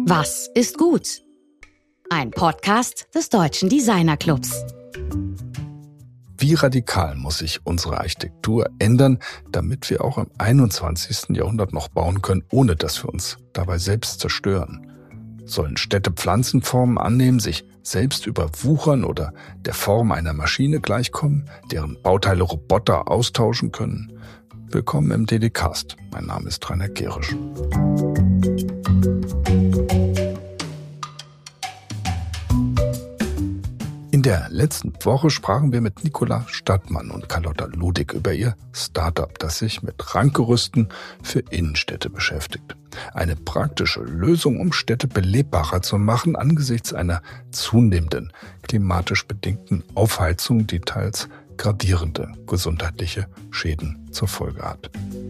Was ist gut? Ein Podcast des Deutschen Designerclubs. Wie radikal muss sich unsere Architektur ändern, damit wir auch im 21. Jahrhundert noch bauen können, ohne dass wir uns dabei selbst zerstören? Sollen Städte Pflanzenformen annehmen, sich selbst überwuchern oder der Form einer Maschine gleichkommen, deren Bauteile Roboter austauschen können? Willkommen im DD-Cast. Mein Name ist Rainer Gerisch. In der letzten Woche sprachen wir mit Nicola Stadtmann und Carlotta Ludig über ihr Startup, das sich mit Rankgerüsten für Innenstädte beschäftigt. Eine praktische Lösung, um Städte belebbarer zu machen angesichts einer zunehmenden klimatisch bedingten Aufheizung, die teils gravierende gesundheitliche Schäden zur Folge hat.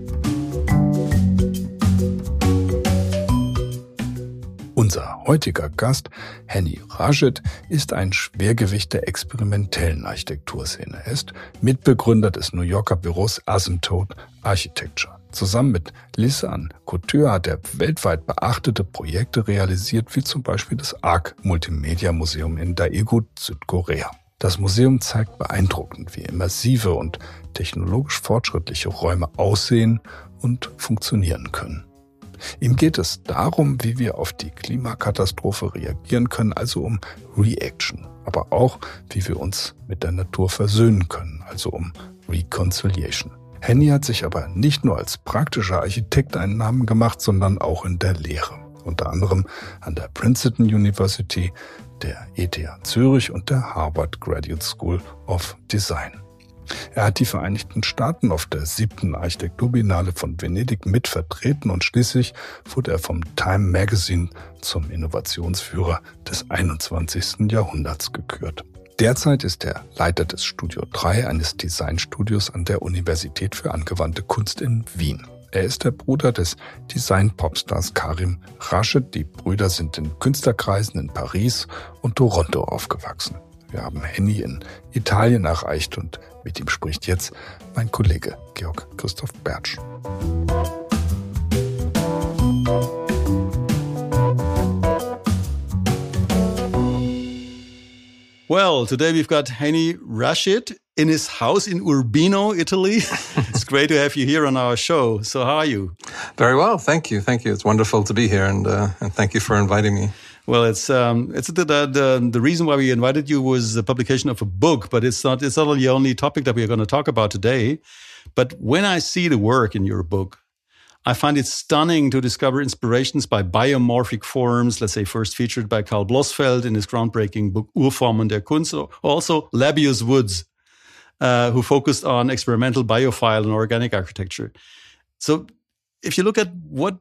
Unser heutiger Gast, Henny Rashid, ist ein Schwergewicht der experimentellen Architekturszene. Er ist Mitbegründer des New Yorker Büros Asymptote Architecture. Zusammen mit Lisanne Couture hat er weltweit beachtete Projekte realisiert, wie zum Beispiel das ARC Multimedia Museum in Daegu, Südkorea. Das Museum zeigt beeindruckend, wie immersive und technologisch fortschrittliche Räume aussehen und funktionieren können. Ihm geht es darum, wie wir auf die Klimakatastrophe reagieren können, also um Reaction, aber auch, wie wir uns mit der Natur versöhnen können, also um Reconciliation. Henny hat sich aber nicht nur als praktischer Architekt einen Namen gemacht, sondern auch in der Lehre, unter anderem an der Princeton University, der ETH Zürich und der Harvard Graduate School of Design. Er hat die Vereinigten Staaten auf der 7. Architekturbiennale von Venedig mitvertreten und schließlich wurde er vom Time Magazine zum Innovationsführer des 21. Jahrhunderts gekürt. Derzeit ist er Leiter des Studio 3, eines Designstudios an der Universität für angewandte Kunst in Wien. Er ist der Bruder des Design-Popstars Karim Rashid. Die Brüder sind in Künstlerkreisen in Paris und Toronto aufgewachsen. Wir haben Henny in Italien erreicht und mit ihm spricht jetzt mein Kollege Georg Christoph Bertsch. Well, today we've got Henny Rashid in his house in Urbino, Italy. It's great to have you here on our show. So how are you? Very well, thank you. Thank you. It's wonderful to be here, and thank you for inviting me. Well, the reason why we invited you was the publication of a book, but it's not the only topic that we are going to talk about today. But when I see the work in your book, I find it stunning to discover inspirations by biomorphic forms, let's say first featured by Karl Blossfeld in his groundbreaking book Urformen der Kunst, also Labius Woods, who focused on experimental biophile and organic architecture. So if you look at what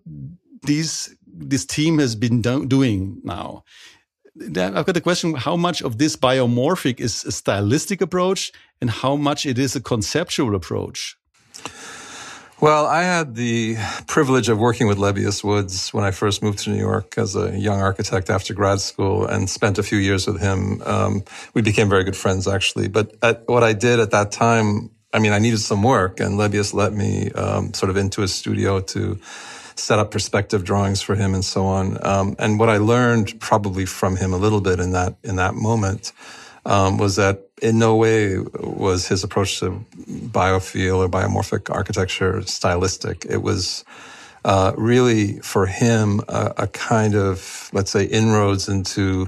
this team has been doing now, I've got the question, how much of this biomorphic is a stylistic approach and how much it is a conceptual approach? Well, I had the privilege of working with Labius Woods when I first moved to New York as a young architect after grad school and spent a few years with him. We became very good friends, actually. But what I did at that time, I needed some work, and Labius let me sort of into his studio to set up perspective drawings for him and so on. And what I learned probably from him a little bit in that moment was that in no way was his approach to biophile or biomorphic architecture stylistic. It was really for him a kind of, let's say, inroads into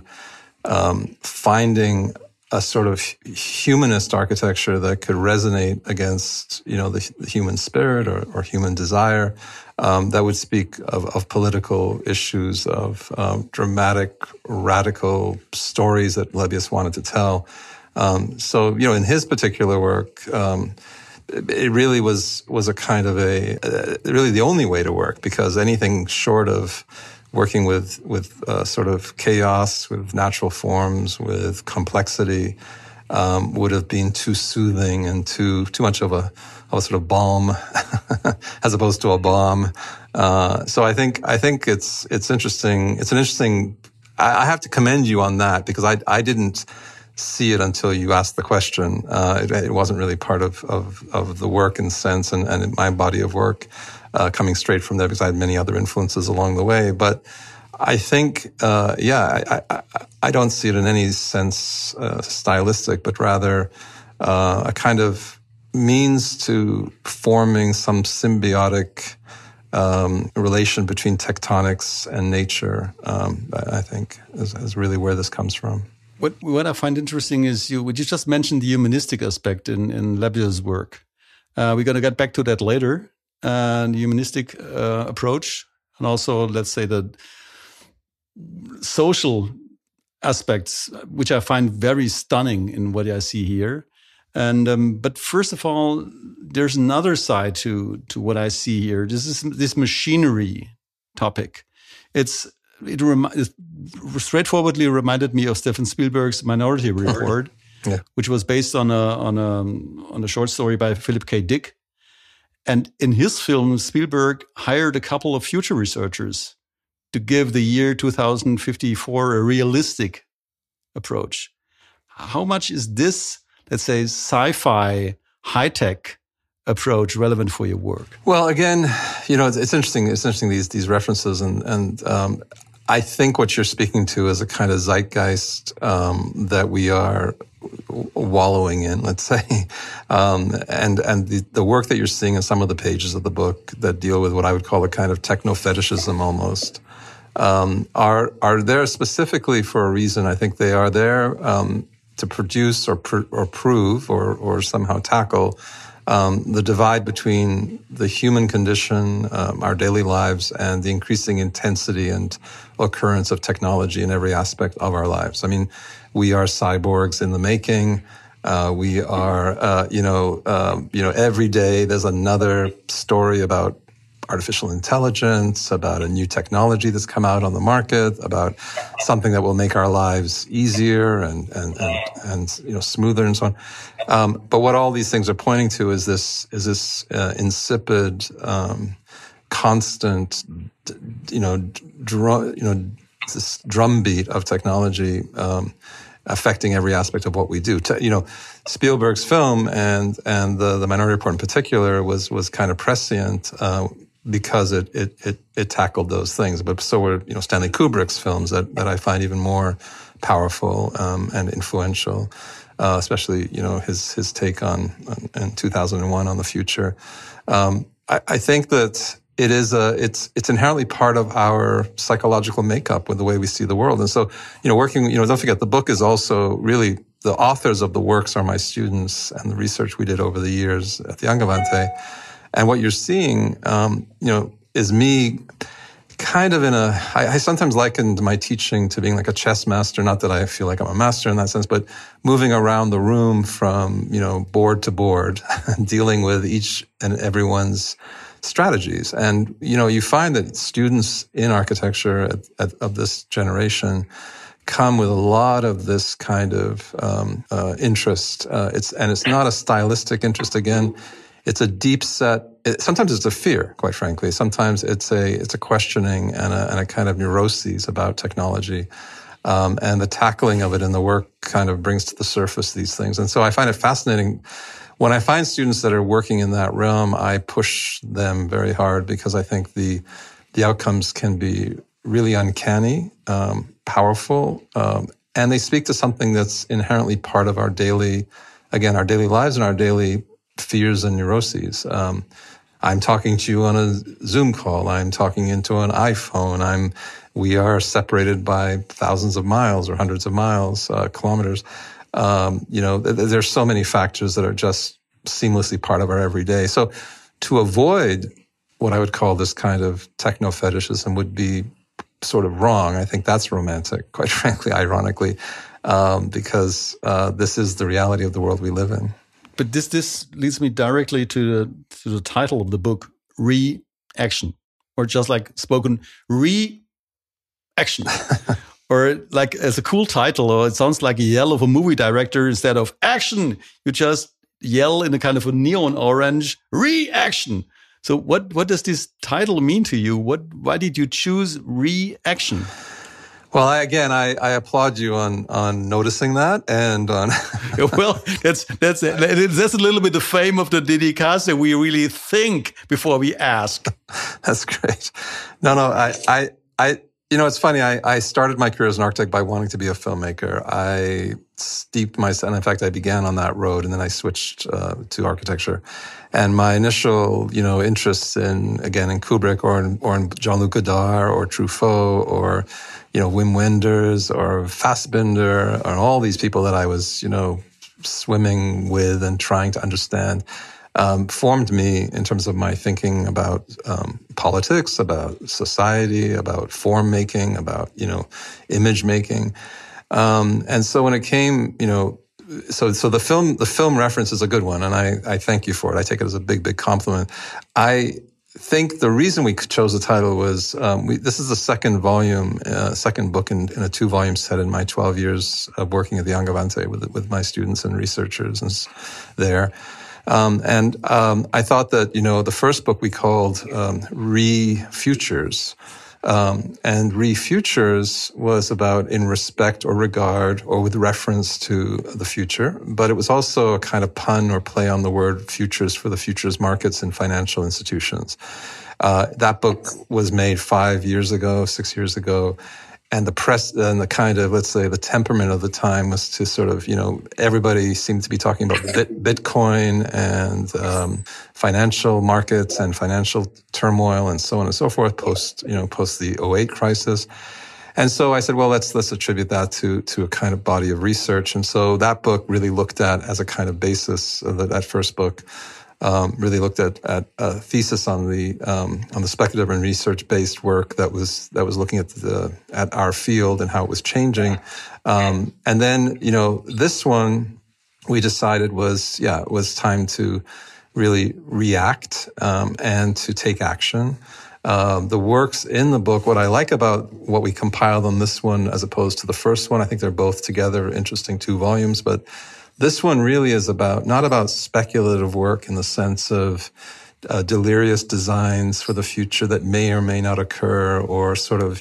finding a sort of humanist architecture that could resonate against, the human spirit or human desire, that would speak of political issues, of dramatic, radical stories that Labius wanted to tell. So, in his particular work, it really was a kind of really the only way to work, because anything short of working with sort of chaos, with natural forms, with complexity, would have been too soothing and too much of a sort of balm as opposed to a bomb. So I think it's interesting. It's an interesting. I have to commend you on that, because I didn't see it until you asked the question. It wasn't really part of the work in sense and my body of work coming straight from there, because I had many other influences along the way. But I think, I don't see it in any sense stylistic, but rather a kind of means to forming some symbiotic relation between tectonics and nature, I think, is really where this comes from. What I find interesting is you just mentioned the humanistic aspect in Lebesgue's work. We're going to get back to that later, the humanistic approach, and also, let's say, the social aspects, which I find very stunning in what I see here. And but first of all, there's another side to what I see here. This machinery topic. It straightforwardly reminded me of Steven Spielberg's Minority Report, which was based on a short story by Philip K. Dick. And in his film, Spielberg hired a couple of future researchers to give the year 2054 a realistic approach. How much is this, let's say, sci-fi, high-tech approach relevant for your work? Well, again, it's interesting. It's interesting these references, and I think what you're speaking to is a kind of zeitgeist that we are wallowing in, let's say, and the work that you're seeing in some of the pages of the book that deal with what I would call a kind of techno-fetishism almost. Are there specifically for a reason. I think they are there to produce or prove or somehow tackle the divide between the human condition, our daily lives, and the increasing intensity and occurrence of technology in every aspect of our lives. I mean, we are cyborgs in the making. We are, every day there's another story about artificial intelligence, about a new technology that's come out on the market, about something that will make our lives easier and smoother and so on. But what all these things are pointing to is this insipid, constant, this drumbeat of technology affecting every aspect of what we do. Spielberg's film and the Minority Report in particular was kind of prescient. Because it tackled those things, but so were Stanley Kubrick's films that I find even more powerful and influential, especially his take on in 2001 on the future. I think that it's inherently part of our psychological makeup with the way we see the world, and so working don't forget the book is also really the authors of the works are my students and the research we did over the years at the Angewandte. And what you're seeing, is me kind of I sometimes likened my teaching to being like a chess master. Not that I feel like I'm a master in that sense, but moving around the room from, board to board, dealing with each and everyone's strategies. And, you find that students in architecture of this generation come with a lot of this kind of interest. It's not a stylistic interest again. It's a deep set. Sometimes it's a fear, quite frankly. Sometimes it's a questioning and a kind of neuroses about technology, and the tackling of it in the work kind of brings to the surface these things. And so I find it fascinating when I find students that are working in that realm. I push them very hard because I think the outcomes can be really uncanny, powerful, and they speak to something that's inherently part of our daily lives and our daily fears and neuroses. I'm talking to you on a Zoom call. I'm talking into an iPhone. We are separated by thousands of miles or hundreds of miles, kilometers. There's so many factors that are just seamlessly part of our everyday. So to avoid what I would call this kind of techno-fetishism would be sort of wrong. I think that's romantic, quite frankly, ironically, because this is the reality of the world we live in. But this leads me directly to the title of the book, Reaction, or just like spoken, Reaction, or like as a cool title, or it sounds like a yell of a movie director instead of action. You just yell in a kind of a neon orange, Reaction. So what does this title mean to you? Why did you choose Reaction? Well, I applaud you on noticing that and on. Well, that's a little bit the fame of the Dedicase. We really think before we ask. That's great. No, It's funny. I started my career as an architect by wanting to be a filmmaker. I steeped myself, and in fact, I began on that road, and then I switched to architecture. And my initial, interests in Kubrick or in Jean-Luc Godard or Truffaut or, Wim Wenders or Fassbinder or all these people that I was, swimming with and trying to understand, formed me in terms of my thinking about politics, about society, about form making, about image making, and so when it came, so the film reference is a good one, and I thank you for it. I take it as a big compliment. I think the reason we chose the title was this is the second volume, second book in a 2-volume set in my 12 years of working at the Angewandte with my students and researchers and there. And I thought that, the first book we called Re-Futures. And Re-Futures was about in respect or regard or with reference to the future. But it was also a kind of pun or play on the word futures for the futures markets and financial institutions. That book was made 6 years ago. And the press and the kind of, let's say, the temperament of the time was to sort of, everybody seemed to be talking about Bitcoin and financial markets and financial turmoil and so on and so forth post the 2008 crisis. And so I said, well, let's attribute that to a kind of body of research. And so that book really looked at as a kind of basis of that first book. Really looked at a thesis on the speculative and research-based work that was looking at our field and how it was changing. And then, this one we decided it was time to really react, and to take action. The works in the book, what I like about what we compiled on this one as opposed to the first one, I think they're both together interesting 2 volumes, but this one really is not about speculative work in the sense of delirious designs for the future that may or may not occur, or sort of,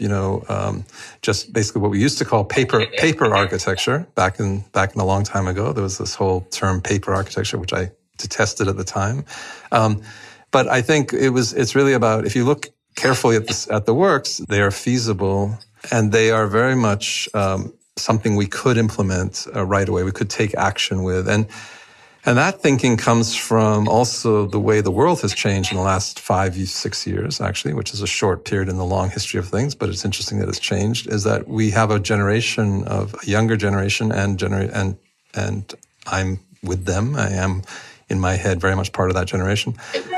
just basically what we used to call paper architecture back in a long time ago. There was this whole term paper architecture, which I detested at the time. But I think it's really about, if you look carefully at the works, they are feasible and they are very much something we could implement right away. We could take action with. And that thinking comes from also the way the world has changed in the last 5-6 years, actually, which is a short period in the long history of things, but it's interesting that it's changed, is that we have a younger generation and I'm with them. I am in my head very much part of that generation,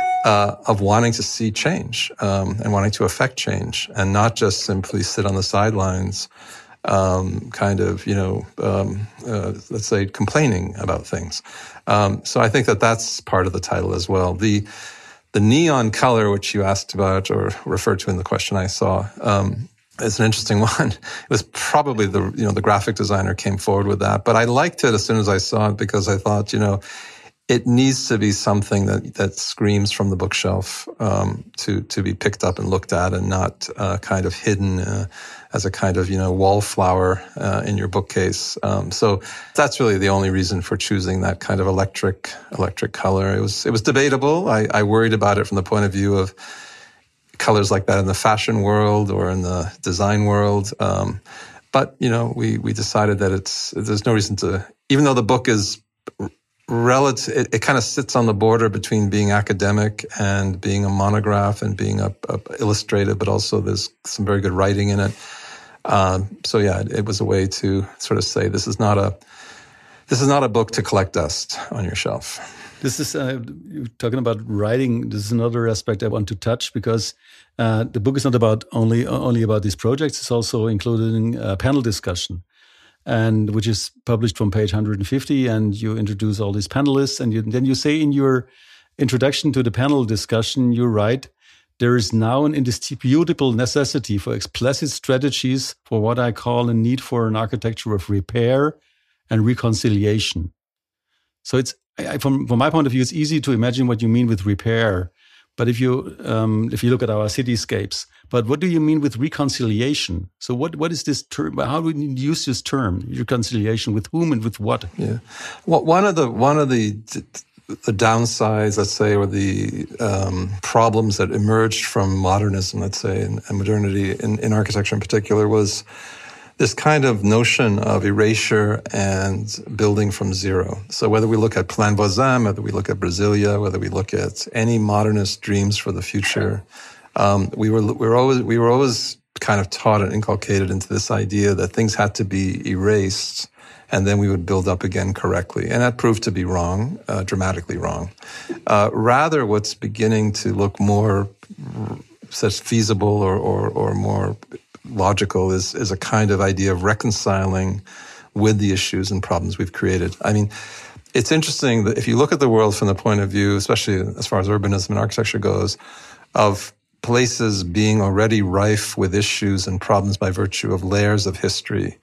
of wanting to see change, and wanting to affect change and not just simply sit on the sidelines, let's say, complaining about things. So I think that's part of the title as well. The neon color, which you asked about or referred to in the question I saw, is an interesting one. It was probably the graphic designer came forward with that, but I liked it as soon as I saw it because I thought, it needs to be something that screams from the bookshelf, to be picked up and looked at, and not kind of hidden as a kind of wallflower in your bookcase. So that's really the only reason for choosing that kind of electric color. It was debatable. I worried about it from the point of view of colors like that in the fashion world or in the design world. But we decided that there's no reason to, even though the book is relative, it kind of sits on the border between being academic and being a monograph and being a illustrated, but also there's some very good writing in it. So yeah, it was a way to sort of say this is not a book to collect dust on your shelf. This is you're talking about writing. This is another aspect I want to touch, because the book is not about only about these projects. It's also including a panel discussion, and which is published from page 150. And you introduce all these panelists, and then you say in your introduction to the panel discussion, you write, "There is now an indisputable necessity for explicit strategies for what I call a need for an architecture of repair and reconciliation." So it's, from my point of view, it's easy to imagine what you mean with repair. But if you look at our cityscapes, but what do you mean with reconciliation? So what is this term? How do we use this term, reconciliation, with whom and with what? Yeah, well, one of the downsides, let's say, or the problems that emerged from modernism, let's say, and modernity in architecture in particular, was this kind of notion of erasure and building from zero. So whether we look at Plan Voisin, whether we look at Brasilia, whether we look at any modernist dreams for the future, we were always kind of taught and inculcated into this idea that things had to be erased and then we would build up again correctly. And that proved to be wrong, dramatically wrong. Rather, what's beginning to look more such feasible or more logical is a kind of idea of reconciling with the issues and problems we've created. I mean, it's interesting that if you look at the world from the point of view, especially as far as urbanism and architecture goes, of places being already rife with issues and problems by virtue of layers of history.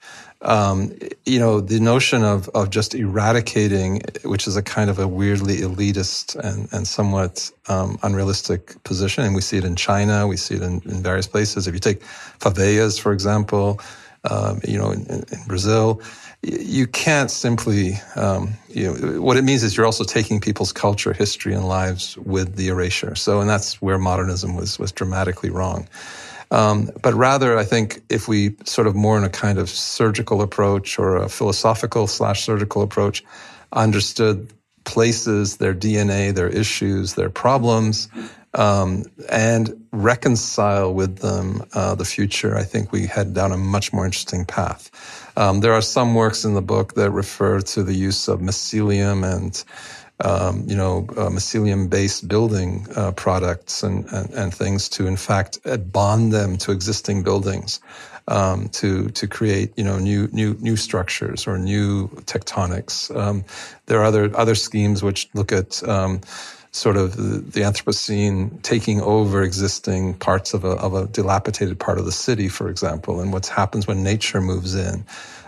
The notion of just eradicating, which is a kind of a weirdly elitist and somewhat unrealistic position, and we see it in China, we see it in various places. If you take favelas, for example, in Brazil, you can't simply, what it means is you're also taking people's culture, history, and lives with the erasure. And that's where modernism was dramatically wrong. But rather, I think if we sort of more in a kind of surgical approach or a philosophical/surgical approach, understood places, their DNA, their issues, their problems, and reconcile with them the future, I think we head down a much more interesting path. There are some works in the book that refer to the use of mycelium and mycelium-based building products and things to, in fact, bond them to existing buildings, to create new structures or new tectonics. There are other schemes which look at sort of the Anthropocene taking over existing parts of a dilapidated part of the city, for example, and what happens when nature moves in.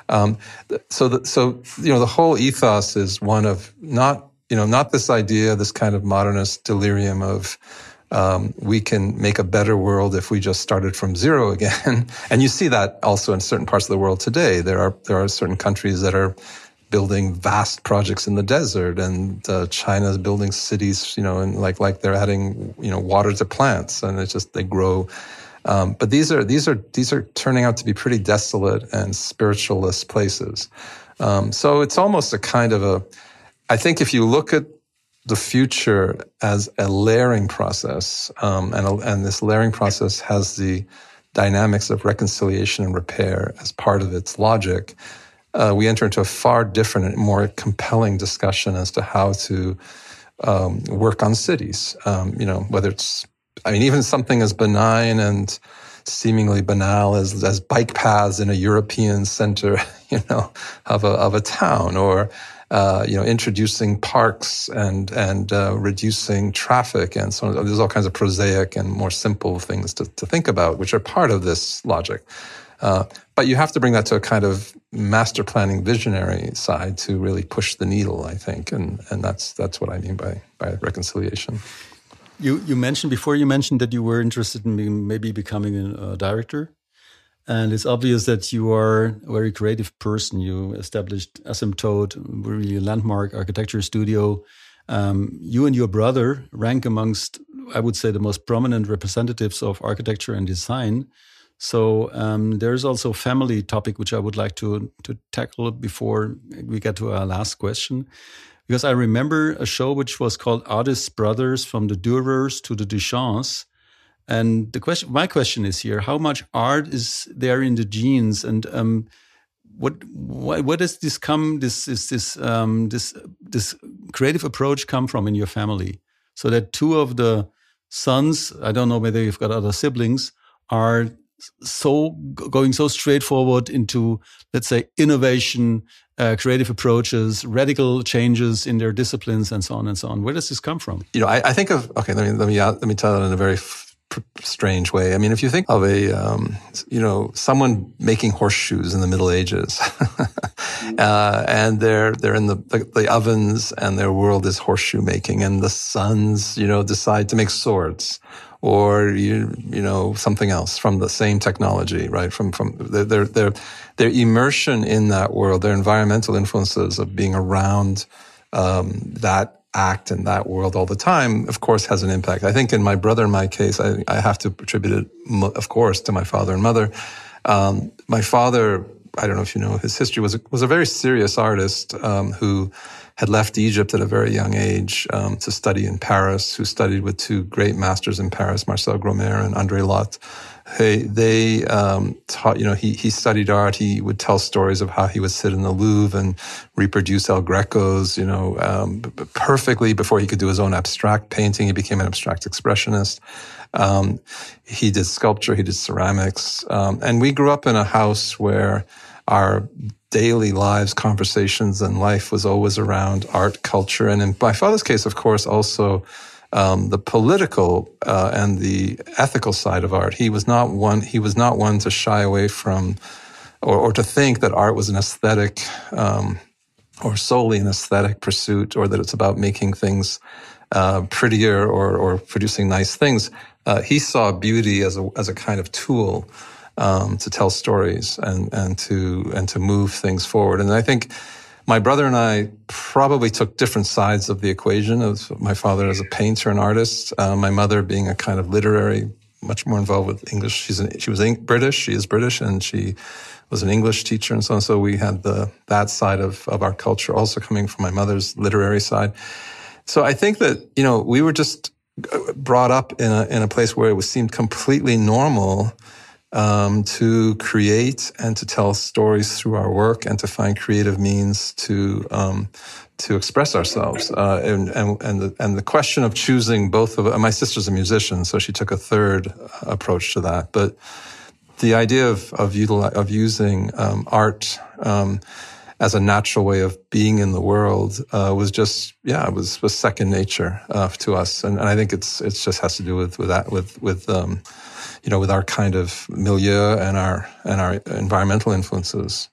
So the whole ethos is one of not this idea, this kind of modernist delirium of we can make a better world if we just started from zero again. And you see that also in certain parts of the world today. There are certain countries that are building vast projects in the desert, and China's building cities, and like they're adding, water to plants, and it's just they grow. But these are turning out to be pretty desolate and spiritualist places. So it's almost a kind of I think if you look at the future as a layering process, and this layering process has the dynamics of reconciliation and repair as part of its logic, we enter into a far different and more compelling discussion as to how to work on cities. Whether it's, even something as benign and seemingly banal as bike paths in a European center, of a town, or introducing parks and reducing traffic and so on. There's all kinds of prosaic and more simple things to think about, which are part of this logic. But you have to bring that to a kind of master planning visionary side to really push the needle, I think. And that's what I mean by reconciliation. You mentioned that you were interested in maybe becoming a director. And it's obvious that you are a very creative person. You established Asymptote, really a landmark architecture studio. You and your brother rank amongst, I would say, the most prominent representatives of architecture and design. So there's also a family topic which I would like to tackle before we get to our last question. Because I remember a show which was called Artists Brothers, from the Dürers to the Duchamps. And my question is here: how much art is there in the genes, and what does this creative approach come from in your family? So that two of the sons, I don't know whether you've got other siblings, are going so straightforward into, let's say, innovation, creative approaches, radical changes in their disciplines, and so on and so on. Where does this come from? I think of, okay, let me tell it in a very strange way. If you think of someone making horseshoes in the Middle Ages, and they're in the ovens, and their world is horseshoe making, and the sons, decide to make swords, or something else from the same technology, right? From their immersion in that world, their environmental influences of being around that act in that world all the time, of course, has an impact. I think in my brother, in my case, I have to attribute it, of course, to my father and mother. My father, I don't know if you know his history, was a very serious artist who had left Egypt at a very young age to study in Paris, who studied with two great masters in Paris, Marcel Gromer and André Lotte. They taught, he studied art. He would tell stories of how he would sit in the Louvre and reproduce El Greco's, perfectly before he could do his own abstract painting. He became an abstract expressionist. He did sculpture, he did ceramics. And we grew up in a house where our daily lives, conversations, and life was always around art, culture. And in my father's case, of course, also the political and the ethical side of art. He was not one to shy away from or to think that art was an aesthetic or solely an aesthetic pursuit, or that it's about making things prettier or producing nice things. He saw beauty as a kind of tool to tell stories and to move things forward. And I think my brother and I probably took different sides of the equation, of my father as a painter and artist, my mother being a kind of literary, much more involved with English. She was British, she is British, and she was an English teacher and so on. So we had that side of our culture also coming from my mother's literary side. So I think that, we were just brought up in a place where it seemed completely normal to create and to tell stories through our work and to find creative means to express ourselves. And the question of choosing both of my sister's a musician, so she took a third approach to that. But the idea of using art as a natural way of being in the world was just it was second nature to us. And I think it's just has to do with that with our kind of milieu and our environmental influences,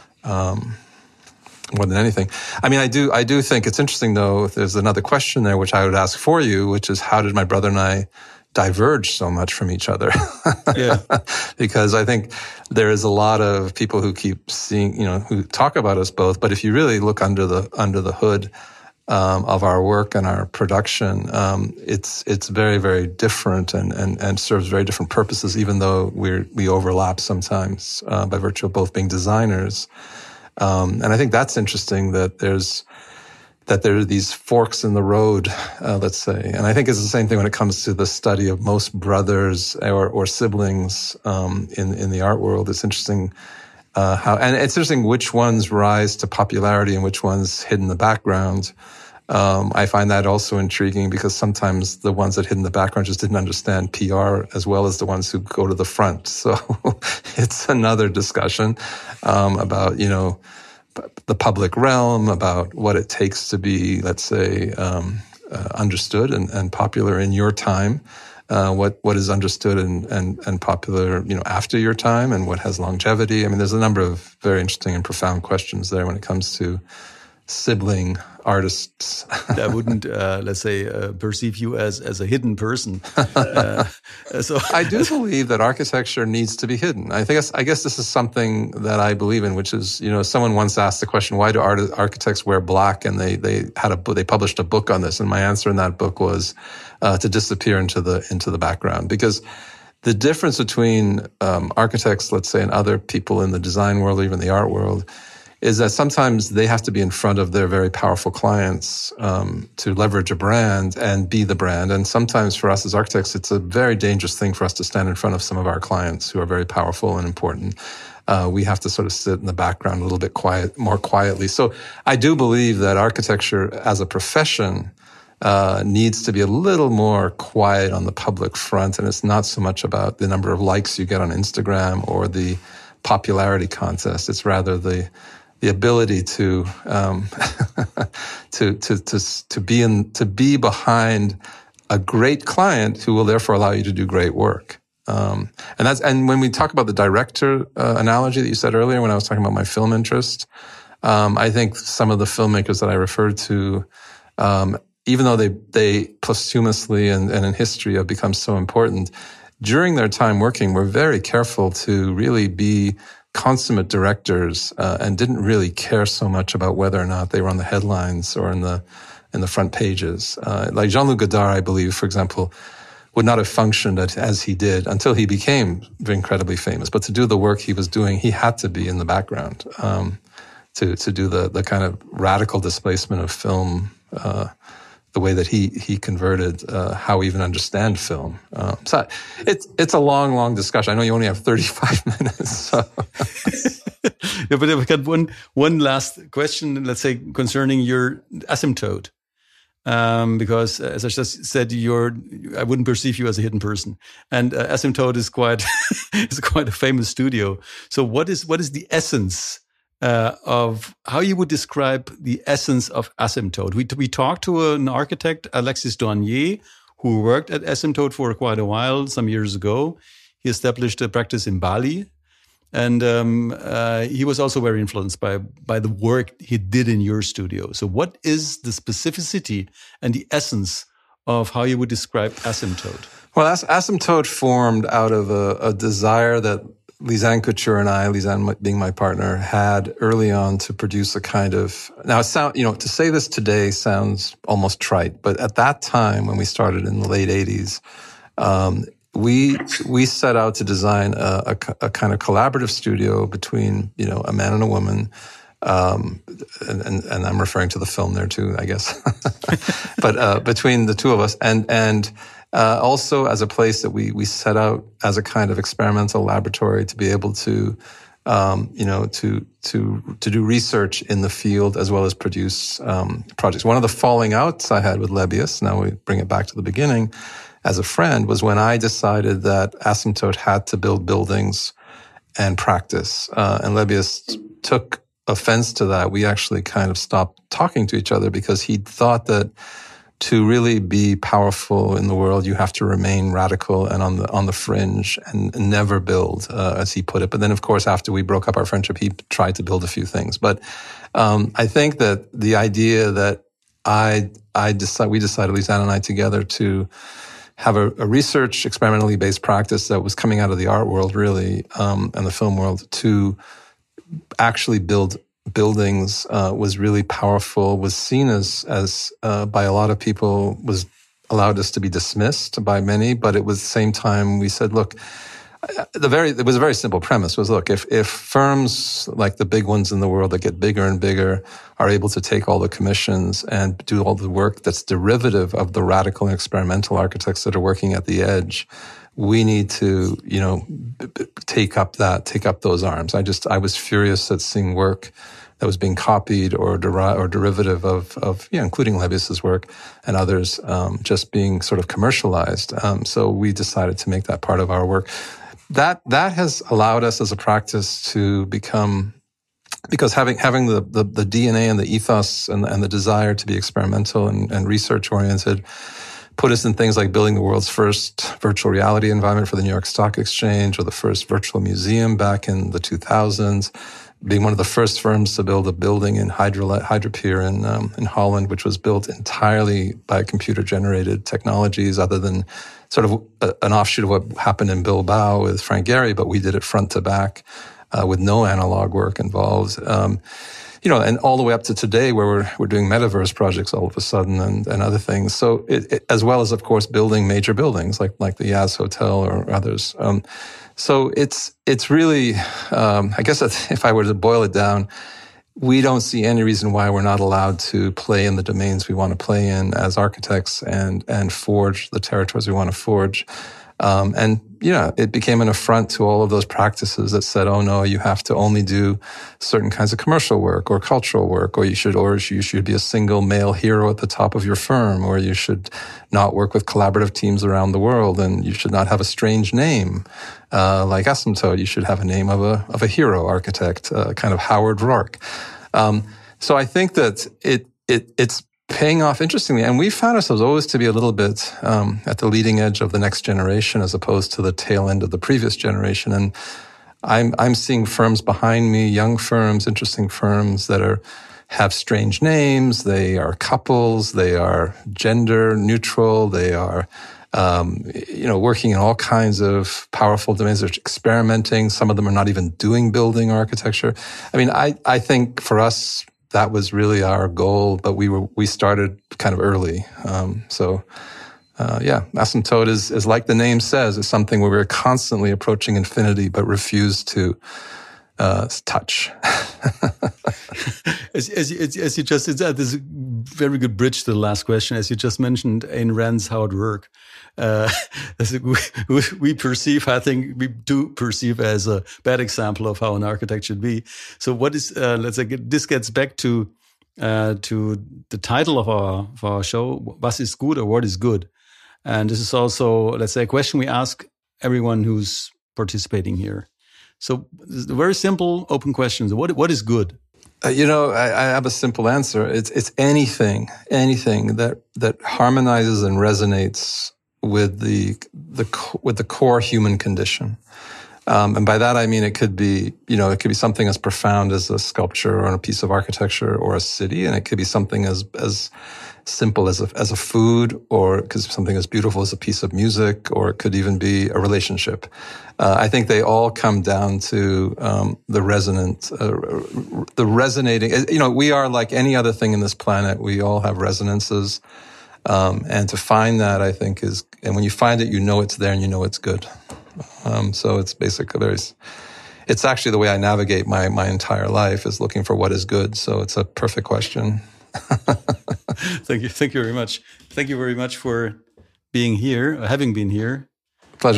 more than anything. I mean, I do think it's interesting, though. There's another question there, which I would ask for you, which is, how did my brother and I diverge so much from each other? Yeah. Because I think there is a lot of people who keep seeing, who talk about us both. But if you really look under the hood of our work and our production, it's very, very different and serves very different purposes, even though we overlap sometimes by virtue of both being designers. And I think that's interesting that there are these forks in the road, let's say. And I think it's the same thing when it comes to the study of most brothers or siblings in the art world. It's interesting and it's interesting which ones rise to popularity and which ones hid in the background. I find that also intriguing, because sometimes the ones that hid in the background just didn't understand PR as well as the ones who go to the front. So it's another discussion about, the public realm, about what it takes to be, let's say, understood and popular in your time. What is understood and popular, after your time, and what has longevity. I mean, there's a number of very interesting and profound questions there when it comes to sibling artists. That wouldn't, let's say, perceive you as a hidden person. So I do believe that architecture needs to be hidden. I guess this is something that I believe in, which is, someone once asked the question, why do architects wear black? And they published a book on this, and my answer in that book was to disappear into the background, because the difference between architects, let's say, and other people in the design world or even the art world is that sometimes they have to be in front of their very powerful clients to leverage a brand and be the brand. And sometimes for us as architects, it's a very dangerous thing for us to stand in front of some of our clients who are very powerful and important. We have to sort of sit in the background a little bit more quietly. So I do believe that architecture as a profession needs to be a little more quiet on the public front. And it's not so much about the number of likes you get on Instagram or the popularity contest. It's rather the ability to be behind a great client who will therefore allow you to do great work. And when we talk about the director analogy that you said earlier, when I was talking about my film interest, I think some of the filmmakers that I referred to, even though they posthumously and in history have become so important, during their time working, were very careful to really be consummate directors and didn't really care so much about whether or not they were on the headlines or in in the front pages. Like Jean-Luc Godard, I believe, for example, would not have functioned as he did until he became incredibly famous. But to do the work he was doing, he had to be in the background to do the kind of radical displacement of film, the way that he converted how we even understand film. So it's a long discussion. I know you only have 35 minutes. So. Yeah, but I've got one last question, let's say, concerning your Asymptote. Because as I just said, I wouldn't perceive you as a hidden person, and Asymptote is quite a famous studio. So what is the essence of how you would describe the essence of Asymptote? We talked to an architect, Alexis Douanier, who worked at Asymptote for quite a while, some years ago. He established a practice in Bali. And he was also very influenced by the work he did in your studio. So what is the specificity and the essence of how you would describe Asymptote? Well, Asymptote formed out of a desire that Lisanne Couture and I, Lisanne being my partner, had early on to produce a kind of... Now, to say this today sounds almost trite, but at that time, when we started in the late 80s, we set out to design a kind of collaborative studio between, a man and a woman. And I'm referring to the film there too, I guess. But between the two of us and also as a place that we set out as a kind of experimental laboratory to be able to to do research in the field as well as produce projects. One of the falling outs I had with Lebbeus, now we bring it back to the beginning, as a friend, was when I decided that Asymptote had to build buildings and practice. And Lebbeus took offense to that. We actually kind of stopped talking to each other because he thought that to really be powerful in the world, you have to remain radical and on the fringe and never build, as he put it. But then, of course, after we broke up our friendship, he tried to build a few things. But I think that the idea that we decided, Lisanne and I together, to have a research, experimentally based practice that was coming out of the art world, really, and the film world, to actually build buildings was really powerful, was seen as by a lot of people, was allowed us to be dismissed by many, but it was the same time we said, look, it was a very simple premise, was, look, if firms like the big ones in the world that get bigger and bigger are able to take all the commissions and do all the work that's derivative of the radical and experimental architects that are working at the edge, we need to, take up those arms. I was furious at seeing work that was being copied or derivative of including Lebbeus's work and others, just being sort of commercialized. So we decided to make that part of our work. That has allowed us as a practice to become, because having the DNA and the ethos and the desire to be experimental and research oriented put us in things like building the world's first virtual reality environment for the New York Stock Exchange, or the first virtual museum back in the 2000s, being one of the first firms to build a building in Hydropier in Holland, which was built entirely by computer-generated technologies, other than sort of an offshoot of what happened in Bilbao with Frank Gehry, but we did it front to back with no analog work involved. And all the way up to today, where we're doing metaverse projects all of a sudden and other things. So it, as well as, of course, building major buildings like the Yas Hotel or others. So it's really, I guess if I were to boil it down, we don't see any reason why we're not allowed to play in the domains we want to play in as architects and forge the territories we want to forge. It became an affront to all of those practices that said, oh no, you have to only do certain kinds of commercial work or cultural work, or you should be a single male hero at the top of your firm, or you should not work with collaborative teams around the world, and you should not have a strange name, like Asymptote. You should have a name of a hero architect, kind of Howard Rourke. So I think that it's paying off interestingly. And we found ourselves always to be a little bit at the leading edge of the next generation as opposed to the tail end of the previous generation. And I'm seeing firms behind me, young firms, interesting firms that have strange names. They are couples. They are gender neutral. They are, working in all kinds of powerful domains. They're experimenting. Some of them are not even doing building architecture. I mean, I think for us, that was really our goal, but we started kind of early. Asymptote is like the name says, is something where we're constantly approaching infinity, but refuse to touch. As you just said, this is a very good bridge to the last question. As you just mentioned, Ayn Rand's How It Work. We perceive, I think we do perceive as a bad example of how an architect should be. So what is, let's say, this gets back to the title of our show, Was ist gut, or what is good? And this is also, let's say, a question we ask everyone who's participating here. So very simple, open questions. What is good? I have a simple answer. It's anything that harmonizes and resonates with the core human condition. And by that I mean it could be something as profound as a sculpture or a piece of architecture or a city, and it could be something as simple as a food, or it could be something as beautiful as a piece of music, or it could even be a relationship. I think they all come down to the resonating. We are like any other thing in this planet. We all have resonances, and to find that, I think, and when you find it, it's there and it's good. So it's basically it's actually the way I navigate my entire life, is looking for what is good. So it's a perfect question. Thank you very much. Thank you very much for being here, having been here. Pleasure.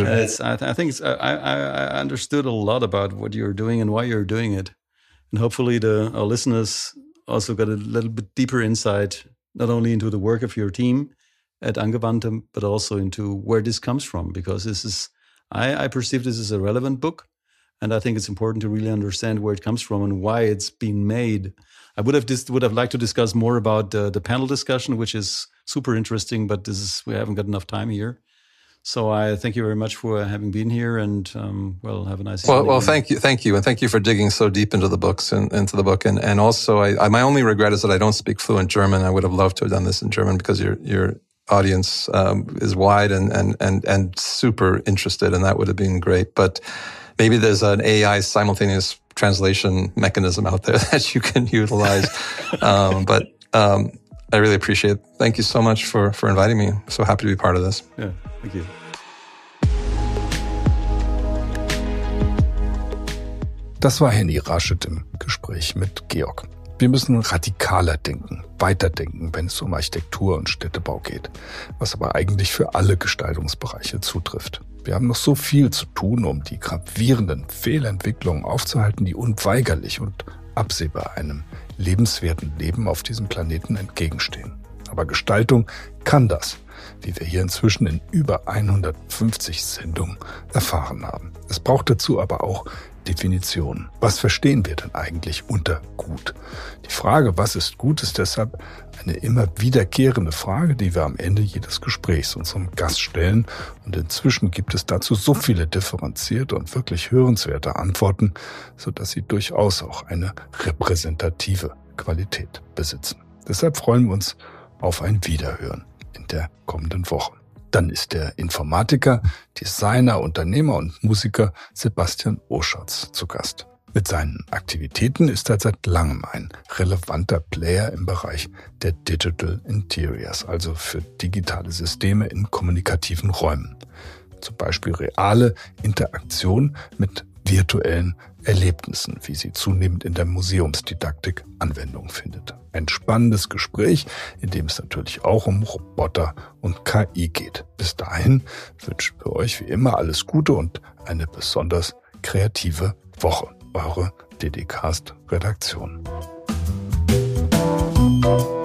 I understood a lot about what you're doing and why you're doing it, and hopefully our listeners also got a little bit deeper insight, not only into the work of your team at Angewandte, but also into where this comes from. Because this is, I perceive this as a relevant book, and I think it's important to really understand where it comes from and why it's been made. I would have liked to discuss more about the panel discussion, which is super interesting, but we haven't got enough time here. So I thank you very much for having been here, and have a nice evening. Well, thank you, and thank you for digging so deep into the books and into the book. And also, my only regret is that I don't speak fluent German. I would have loved to have done this in German, because your audience is wide and super interested, and that would have been great. But maybe there's an AI simultaneous translation mechanism out there that you can utilize. But I really appreciate it. Thank you so much for inviting me. I'm so happy to be part of this. Yeah, thank you. Das war Henny Raschet im Gespräch mit Georg. Wir müssen radikaler denken, weiterdenken, wenn es um Architektur und Städtebau geht, was aber eigentlich für alle Gestaltungsbereiche zutrifft. Wir haben noch so viel zu tun, um die gravierenden Fehlentwicklungen aufzuhalten, die unweigerlich und absehbar einem lebenswerten Leben auf diesem Planeten entgegenstehen. Aber Gestaltung kann das, wie wir hier inzwischen in über 150 Sendungen erfahren haben. Es braucht dazu aber auch Definitionen. Was verstehen wir denn eigentlich unter gut? Die Frage, was ist gut, ist deshalb eine immer wiederkehrende Frage, die wir am Ende jedes Gesprächs unserem Gast stellen. Und inzwischen gibt es dazu so viele differenzierte und wirklich hörenswerte Antworten, sodass sie durchaus auch eine repräsentative Qualität besitzen. Deshalb freuen wir uns auf ein Wiederhören in der kommenden Woche. Dann ist der Informatiker, Designer, Unternehmer und Musiker Sebastian Oschatz zu Gast. Mit seinen Aktivitäten ist er seit langem ein relevanter Player im Bereich der Digital Interiors, also für digitale Systeme in kommunikativen Räumen. Zum Beispiel reale Interaktion mit virtuellen Erlebnissen, wie sie zunehmend in der Museumsdidaktik Anwendung findet. Ein spannendes Gespräch, in dem es natürlich auch um Roboter und KI geht. Bis dahin wünschen wir euch wie immer alles Gute und eine besonders kreative Woche. Eure DDcast-Redaktion.